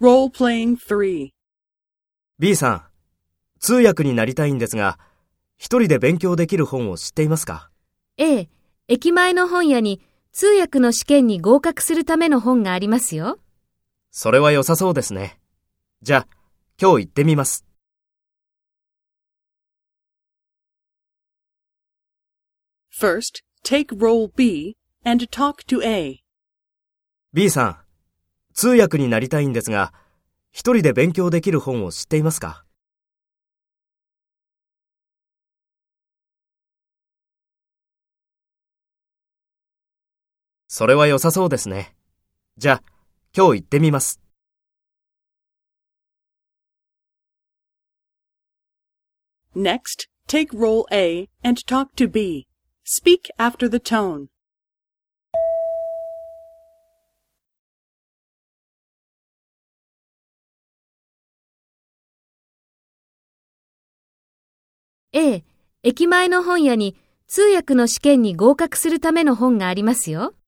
Role-playing 3. B さん、通訳になりたいんですが、一人で勉強できる本を知っていますか？ ええ、駅前の本屋に通訳の試験に合格するための本がありますよ。 それは良さそうですね。じゃあ、今日行ってみます。 First, take role B and talk to A. B さん、通訳になりたいんですが、一人で勉強できる本を知っていますか？それは良さそうですね。じゃあ、今日行ってみます。 Next, take role A and talk to B. Speak after the tone. ええ、駅前の本屋に通訳の試験に合格するための本がありますよ。